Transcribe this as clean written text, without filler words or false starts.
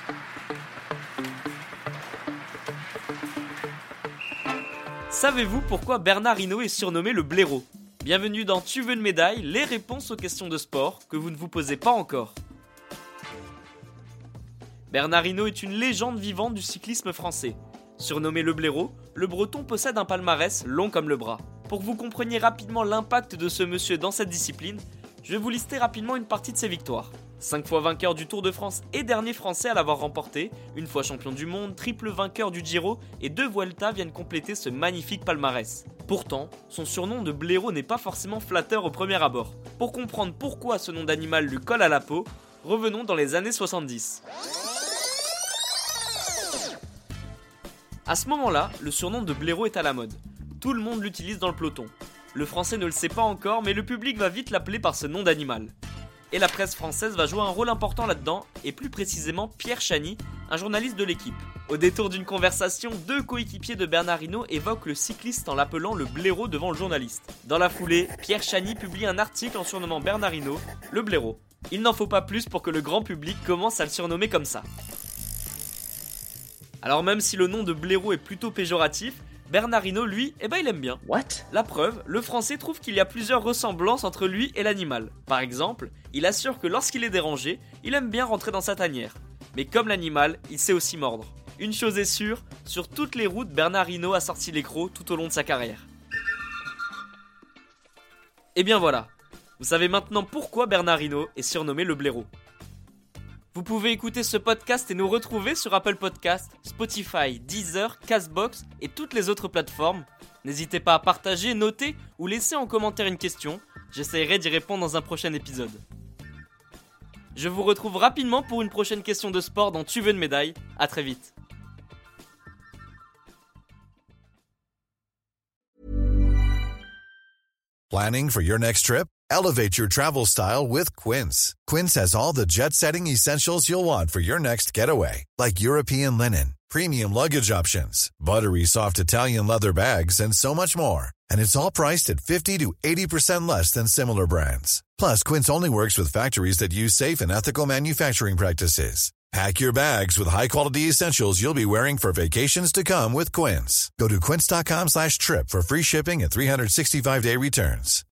Savez-vous pourquoi Bernard Hinault est surnommé le blaireau ? Bienvenue dans Tu veux une médaille, les réponses aux questions de sport que vous ne vous posez pas encore. Bernard Hinault est une légende vivante du cyclisme français. Surnommé le blaireau, le breton possède un palmarès long comme le bras. Pour que vous compreniez rapidement l'impact de ce monsieur dans cette discipline, je vais vous lister rapidement une partie de ses victoires. 5 fois vainqueur du Tour de France et dernier français à l'avoir remporté, une fois champion du monde, triple vainqueur du Giro et 2 Vuelta viennent compléter ce magnifique palmarès. Pourtant, son surnom de blaireau n'est pas forcément flatteur au premier abord. Pour comprendre pourquoi ce nom d'animal lui colle à la peau, revenons dans les années 70. À ce moment-là, le surnom de blaireau est à la mode. Tout le monde l'utilise dans le peloton. Le français ne le sait pas encore, mais le public va vite l'appeler par ce nom d'animal. Et la presse française va jouer un rôle important là-dedans, et plus précisément Pierre Chany, un journaliste de l'équipe. Au détour d'une conversation, 2 coéquipiers de Bernard Hinault évoquent le cycliste en l'appelant le blaireau devant le journaliste. Dans la foulée, Pierre Chany publie un article en surnommant Bernard Hinault le blaireau. Il n'en faut pas plus pour que le grand public commence à le surnommer comme ça. Alors même si le nom de blaireau est plutôt péjoratif, Bernard Hinault, lui, il aime bien. What ? La preuve, le français trouve qu'il y a plusieurs ressemblances entre lui et l'animal. Par exemple, il assure que lorsqu'il est dérangé, il aime bien rentrer dans sa tanière. Mais comme l'animal, il sait aussi mordre. Une chose est sûre, sur toutes les routes, Bernard Hinault a sorti les crocs tout au long de sa carrière. Et bien voilà, vous savez maintenant pourquoi Bernard Hinault est surnommé le blaireau. Vous pouvez écouter ce podcast et nous retrouver sur Apple Podcasts, Spotify, Deezer, Castbox et toutes les autres plateformes. N'hésitez pas à partager, noter ou laisser en commentaire une question. J'essaierai d'y répondre dans un prochain épisode. Je vous retrouve rapidement pour une prochaine question de sport dans Tu veux une médaille. À très vite. Planning for your next trip? Elevate your travel style with Quince. Quince has all the jet-setting essentials you'll want for your next getaway, like European linen, premium luggage options, buttery soft Italian leather bags, and so much more. And it's all priced at 50 to 80% less than similar brands. Plus, Quince only works with factories that use safe and ethical manufacturing practices. Pack your bags with high-quality essentials you'll be wearing for vacations to come with Quince. Go to quince.com/trip for free shipping and 365-day returns.